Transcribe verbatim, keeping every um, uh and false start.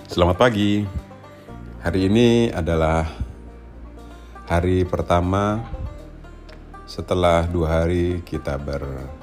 Selamat pagi. Hari ini adalah hari pertama setelah dua hari kita ber